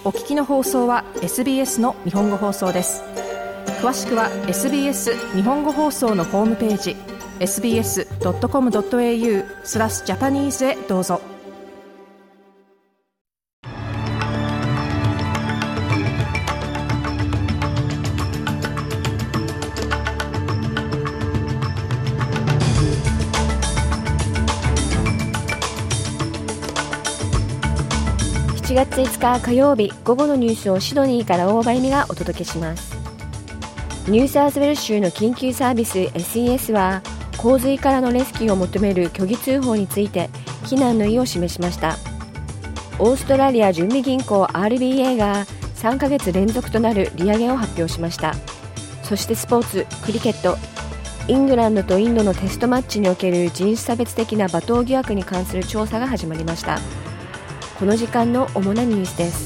お聞きの放送は SBS の日本語放送です。詳しくは SBS 日本語放送のホームページ sbs.com.au/Japanese へどうぞ。 7月5日火曜日、午後のニュースをシドニーから大場由美がお届けします。ニューサウスウェルズ州の緊急サービス SES は洪水からのレスキューを求める虚偽通報について非難の意を示しました。オーストラリア準備銀行 RBA が3ヶ月連続となる利上げを発表しました。そしてスポーツ、クリケット、イングランドとインドのテストマッチにおける人種差別的な罵倒疑惑に関する調査が始まりました。この時間の主なニュースです。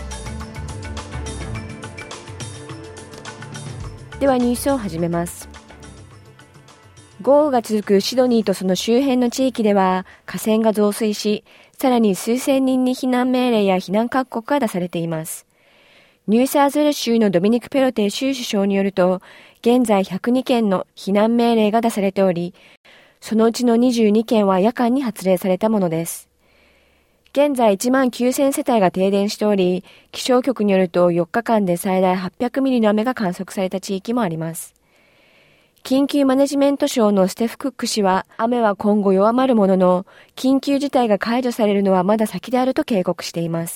ではニュースを始めます。豪雨が続くシドニーとその周辺の地域では河川が増水し、さらに数千人に避難命令や避難勧告が出されています。ニューサウスウェルズ州のドミニク・ペロテ州首相によると、現在102件の避難命令が出されており、そのうちの22件は夜間に発令されたものです。現在1万9000世帯が停電しており、気象局によると4日間で最大800ミリの雨が観測された地域もあります。緊急マネジメント省のステフ・クック氏は、雨は今後弱まるものの、緊急事態が解除されるのはまだ先であると警告しています。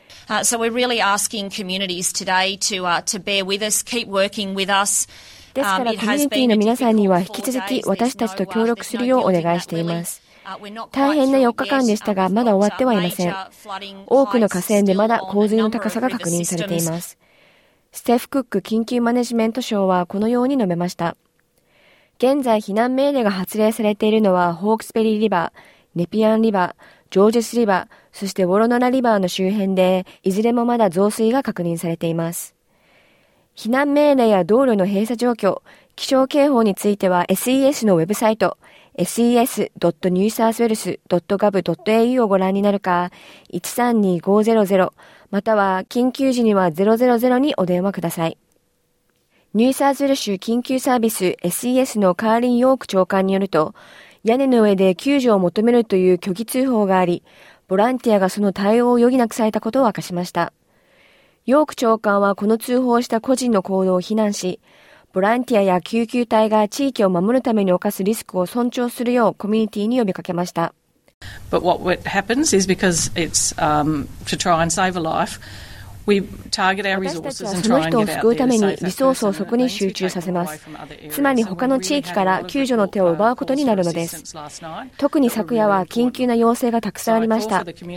So we're really asking communities today to bear with us, keep working with us. ですからコミュニティの皆さんには引き続き私たちと協力するようお願いしています。大変な4日間でしたが、まだ終わってはいません。多くの河川でまだ洪水の高さが確認されています。ステフ・クック緊急マネジメント省はこのように述べました。現在避難命令が発令されているのはホークスベリーリバー、ネピアンリバー、ジョージェスリバー、そしてウォロノラリバーの周辺で、いずれもまだ増水が確認されています。避難命令や道路の閉鎖状況、気象警報については SES のウェブサイト、ses.newsouthwales.gov.au をご覧になるか、132500または緊急時には000にお電話ください。ニューサウスウェル州緊急サービス SES のカーリン・ヨーク長官によると、屋根の上で救助を求めるという虚偽通報があり、ボランティアがその対応を余儀なくされたことを明かしました。ヨーク長官はこの通報した個人の行動を非難し、ボランティアや救急隊が地域を守るために犯すリスクを尊重するようコミュニティに呼びかけました。 But what happens is because it's to try and save a life, we target our resources and try and get out there. 私たちはその人を救うためにリソースをそこに集中させます。つまり他の地域から救助の手を奪うことになるのです。特に昨夜は緊急な要請がたくさんありました。たった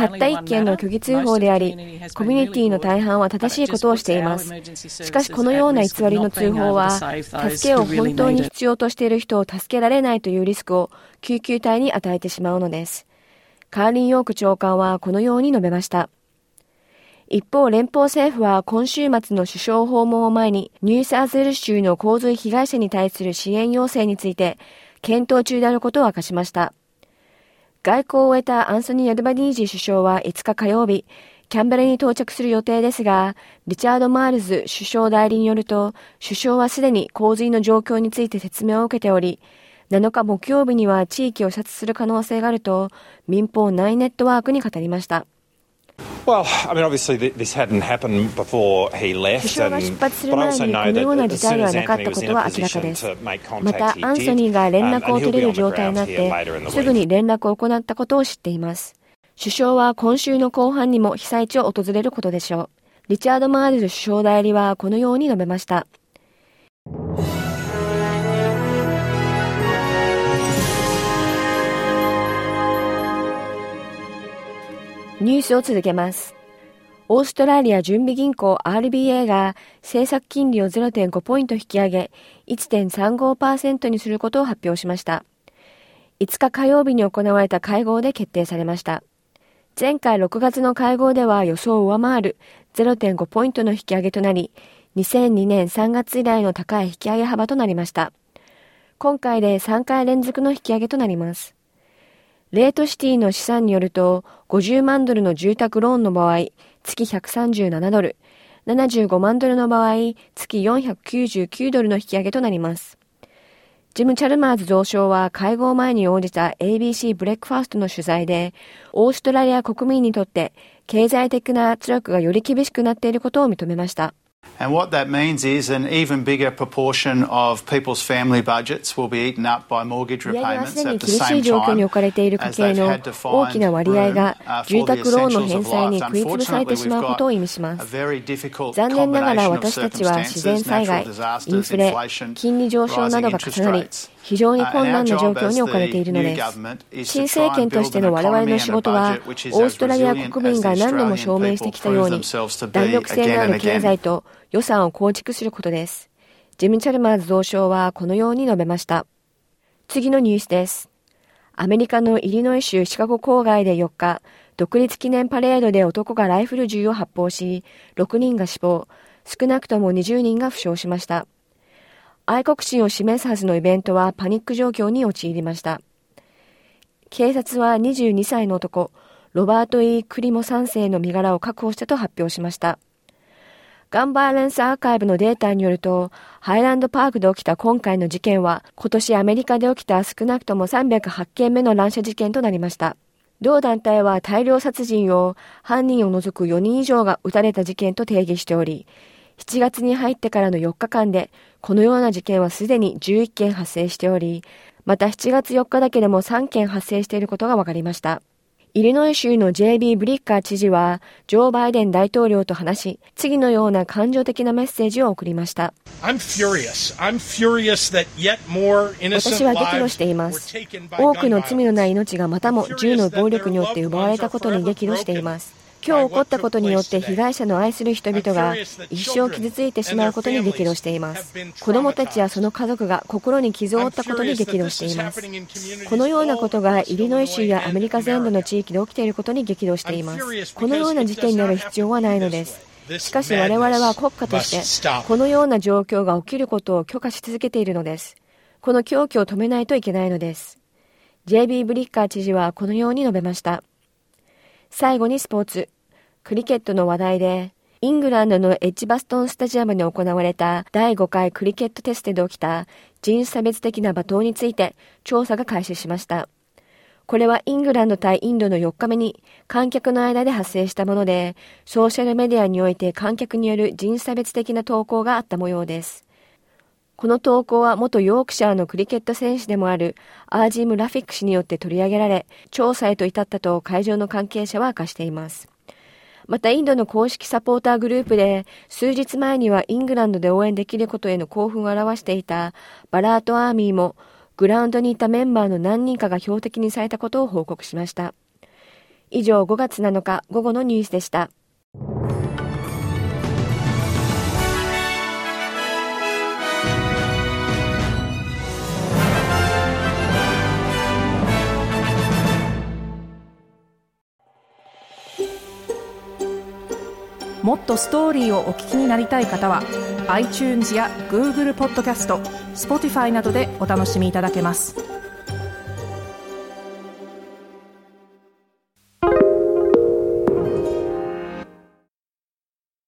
1件の虚偽通報であり、コミュニティの大半は正しいことをしています。しかしこのような偽りの通報は、助けを本当に必要としている人を助けられないというリスクを救急隊に与えてしまうのです。カーリン・ヨーク長官はこのように述べました。一方、連邦政府は今週末の首相訪問を前に、ニューサウスウェルズ州の洪水被害者に対する支援要請について、検討中であることを明かしました。外交を終えたアンソニー・アルバニージー首相は5日火曜日、キャンベラに到着する予定ですが、リチャード・マールズ首相代理によると、首相はすでに洪水の状況について説明を受けており、7日木曜日には地域を視察する可能性があると、民放9ネットワークに語りました。 Well, I mean, obviously this hadn't happened before he left. 首相が出発する前にこのような事態ではなかったことは明らかです。また、アンソニーが連絡を取れる状態になって、すぐに連絡を行ったことを知っています。首相は今週の後半にも被災地を訪れることでしょう。リチャード・マールズ首相代理はこのように述べました。ニュースを続けます。オーストラリア準備銀行 RBA が政策金利を 0.5 ポイント引き上げ 1.35% にすることを発表しました。5日火曜日に行われた会合で決定されました。前回6月の会合では予想を上回る 0.5 ポイントの引き上げとなり、2002年3月以来の高い引き上げ幅となりました。今回で3回連続の引き上げとなります。レートシティの試算によると、50万ドルの住宅ローンの場合、 月137ドル、75万ドルの場合、月499ドルの引き上げとなります。ジム・チャルマーズ蔵相は会合前に応じた ABC ブレックファーストの取材で、オーストラリア国民にとって経済的な圧力がより厳しくなっていることを認めました。 And what that means is an even bigger proportion of people's family budgets will be eaten up by mortgage repayments at the same time as they've had to find room for the essentials of life. Unfortunately, we've got a very difficult combination of circumstances, natural disasters, inflation, rising interest rates. 非常に困難な状況に置かれているのです。新政権としての我々の仕事は、オーストラリア国民が何度も証明してきたように、弾力性のある経済と予算を構築することです。ジム・チャルマーズ蔵相はこのように述べました。次のニュースです。アメリカのイリノイ州シカゴ郊外で4日、独立記念パレードで男がライフル銃を発砲し、6人が死亡、少なくとも20人が負傷しました。愛国心を示すはずのイベントはパニック状況に陥りました。警察は22歳の男、ロバート・E・クリモ3世の身柄を確保したと発表しました。ガンバイオレンスアーカイブのデータによると、ハイランドパークで起きた今回の事件は、今年アメリカで起きた少なくとも308件目の乱射事件となりました。同団体は大量殺人を犯人を除く4人以上が撃たれた事件と定義しており、7月に入ってからの4日間で、このような事件はすでに11件発生しており、また7月4日だけでも3件発生していることが分かりました。イリノイ州の J.B. ブリッカー知事は、ジョー・バイデン大統領と話し、次のような感情的なメッセージを送りました。私は激怒しています。多くの罪のない命がまたも銃の暴力によって奪われたことに激怒しています。今日起こったことによって被害者の愛する人々が一生傷ついてしまうことに激怒しています。子供たちやその家族が心に傷を負ったことに激怒しています。このようなことがイリノイ州やアメリカ全土の地域で起きていることに激怒しています。このような事件になる必要はないのです。しかし我々は国家としてこのような状況が起きることを許可し続けているのです。この狂気を止めないといけないのです。J.B. ブリッカー知事はこのように述べました。最後にスポーツ。クリケットの話題で、イングランドのエッジバストンスタジアムで行われた第5回クリケットテストで起きた人種差別的な罵倒について調査が開始しました。これはイングランド対インドの4日目に観客の間で発生したもので、ソーシャルメディアにおいて観客による人種差別的な投稿があった模様です。この投稿は元ヨークシャーのクリケット選手でもあるアージーム・ラフィック氏によって取り上げられ、調査へと至ったと会場の関係者は明かしています。またインドの公式サポーターグループで数日前にはイングランドで応援できることへの興奮を表していたバラートアーミーもグラウンドにいたメンバーの何人かが標的にされたことを報告しました。以上5月7日午後のニュースでした。 もっとストーリーをお聞きになりたい方は iTunes や Google ポッドキャスト、Spotify などでお楽しみいただけます。